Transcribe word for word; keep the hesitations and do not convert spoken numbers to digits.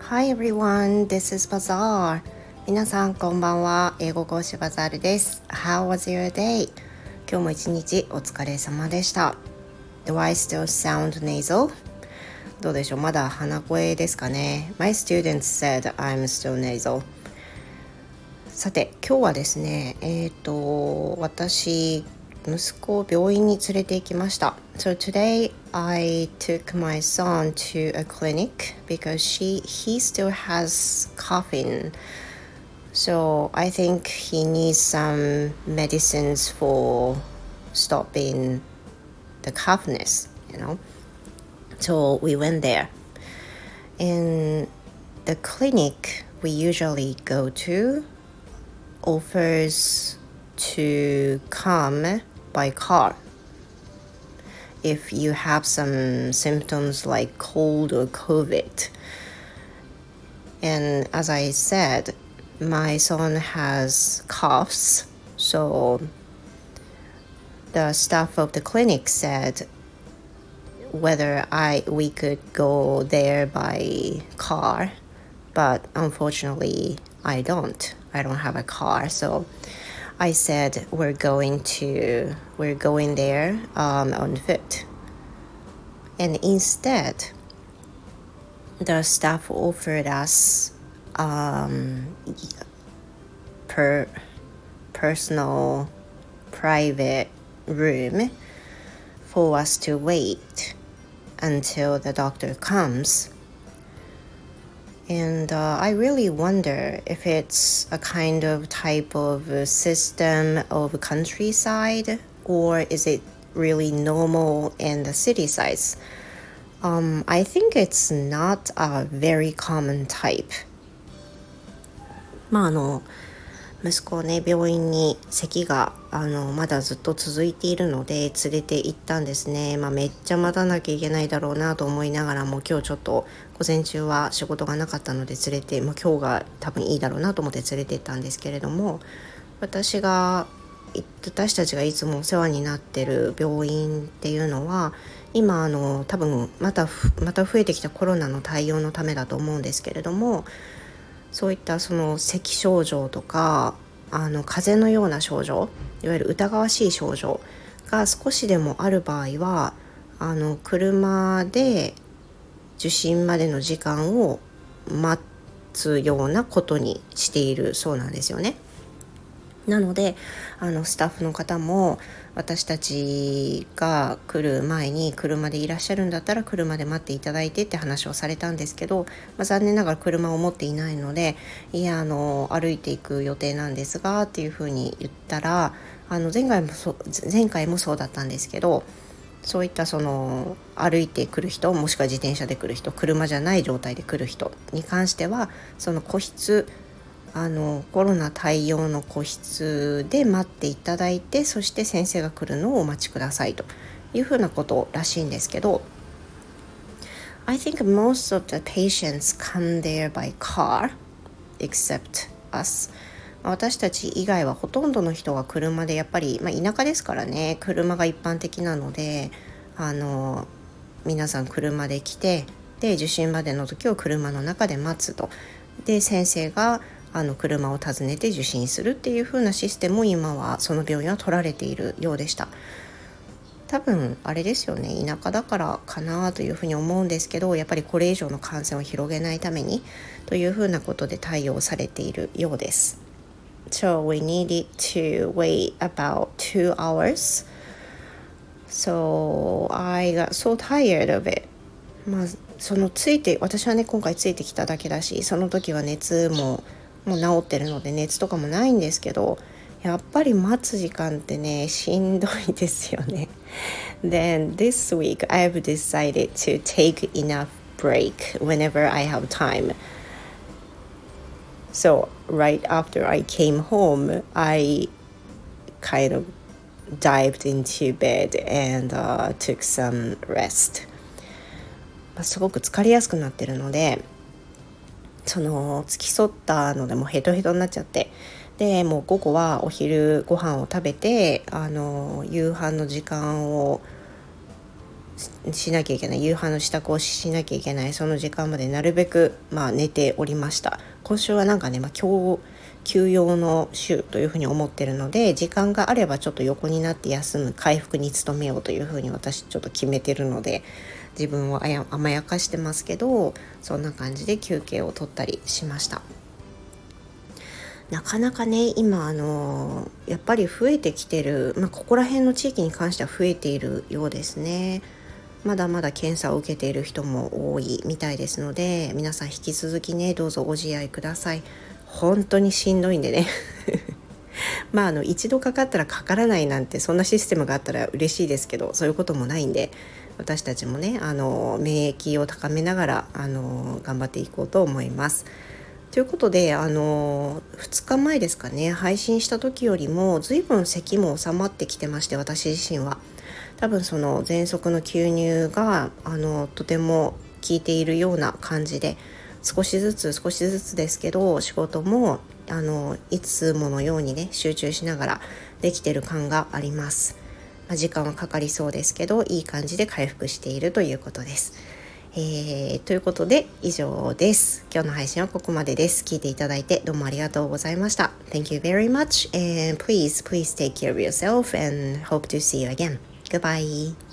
Hi everyone, this is Bazaar. 皆さんこんばんは。英語講師バザールです。How was your day? 今日も一日お疲れ様でした。Do I still sound nasal? どうでしょう、まだ鼻声ですかね。My students said I'm still nasal. さて、今日はですね、えっと、私、息子を病院に連れて行きました。So today I took my son to a clinic because she he still has coughing. So I think he needs some medicines for stopping the coughness, you know. So we went there. And the clinic we usually go to offers to come by car if you have some symptoms like cold or COVID. And as I said, my son has coughs, so the staff of the clinic said whether I we could go there by car, but unfortunately I don't. I don't have a car, so I said we're going to we're going there um, on foot. And instead, the staff offered us um, per personal private room for us to wait until the doctor comes. And uh, I really wonder if it's a kind of type of a system of countryside, or is it really normal in the city sides? Um, I think it's not a very common type. まああの息子をね、病院に咳があのまだずっと続いているので連れて行ったんですね。まあ、めっちゃ待たなきゃいけないだろうなと思いながらも、今日ちょっと午前中は仕事がなかったので連れて、まあ、今日が多分いいだろうなと思って連れて行ったんですけれども、私が私たちがいつもお世話になってる病院っていうのは今あの多分またまた増えてきたコロナの対応のためだと思うんですけれども、そういったその咳症状とかあの風邪のような症状、いわゆる疑わしい症状が少しでもある場合はあの車で受診までの時間を待つようなことにしているそうなんですよね。なのであのスタッフの方も私たちが来る前に車でいらっしゃるんだったら車で待っていただいてって話をされたんですけど、まあ、残念ながら車を持っていないので、いやあの歩いていく予定なんですがっていうふうに言ったら、あの前回もそ前回もそうだったんですけど、そういったその歩いてくる人、もしくは自転車で来る人、車じゃない状態で来る人に関してはその個室あのコロナ対応の個室で待っていただいて、そして先生が来るのをお待ちくださいというふうなことらしいんですけど、 I think most of the patients come there by car except us。 私たち以外はほとんどの人が車で、やっぱり、まあ、田舎ですからね、車が一般的なので、あの皆さん車で来て、で受診までの時を車の中で待つと、で先生があの車を訪ねて受診するっていう風なシステムを今はその病院は取られているようでした。多分あれですよね、田舎だからかなというふうに思うんですけど、やっぱりこれ以上の感染を広げないためにというふうなことで対応されているようです。 So we needed to wait about two hours. So I got so tired of it. まあそのついて私はね今回ついてきただけだし、その時は熱ももう治ってるので熱とかもないんですけど、やっぱり待つ時間ってねしんどいですよね。Then this week I've decided to take enough break whenever I have time. So right after I came home, I kind of dived into bed and、uh, took some rest. すごく疲れやすくなってるので、その付き添ったのでもうヘトヘトになっちゃって、でもう午後はお昼ご飯を食べてあの夕飯の時間をしなきゃいけない、夕飯の支度をしなきゃいけない、その時間までなるべく、まあ、寝ておりました。今週はなんかね、まあ、今日休養の週というふうに思ってるので、時間があればちょっと横になって休む、回復に努めようというふうに私ちょっと決めてるので、自分をあや甘やかしてますけど、そんな感じで休憩を取ったりしました。なかなかね、今あのやっぱり増えてきてる、まあ、ここら辺の地域に関しては増えているようですね。まだまだ検査を受けている人も多いみたいですので、皆さん引き続きね、どうぞご自愛ください。本当にしんどいんでねまああの一度かかったらかからないなんて、そんなシステムがあったら嬉しいですけど、そういうこともないんで、私たちもね、あの免疫を高めながらあの頑張っていこうと思います。ということで、あのふつかまえですかね、配信した時よりも随分咳も収まってきてまして、私自身は多分その喘息の吸入があのとても効いているような感じで、少しずつ少しずつですけど、仕事もあのいつものようにね、集中しながらできている感があります。まあ、時間はかかりそうですけど、いい感じで回復しているということです。えー、ということで以上です。今日の配信はここまでです。聞いていただいてどうもありがとうございました。Thank you very much and please please take care of yourself and hope to see you again. Goodbye.